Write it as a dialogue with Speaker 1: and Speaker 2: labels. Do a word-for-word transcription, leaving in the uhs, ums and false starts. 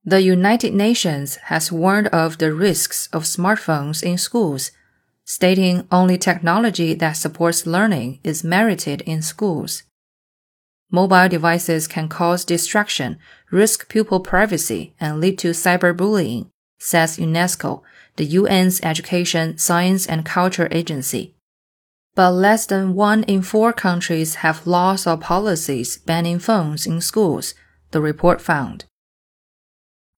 Speaker 1: The United Nations has warned of the risks of smartphones in schools, stating only technology that supports learning is merited in schools. Mobile devices can cause distraction, risk pupil privacy, and lead to cyberbullying, says UNESCO, the U N's Education, Science and Culture Agency. But less than one in four countries have laws or policies banning phones in schools, the report found.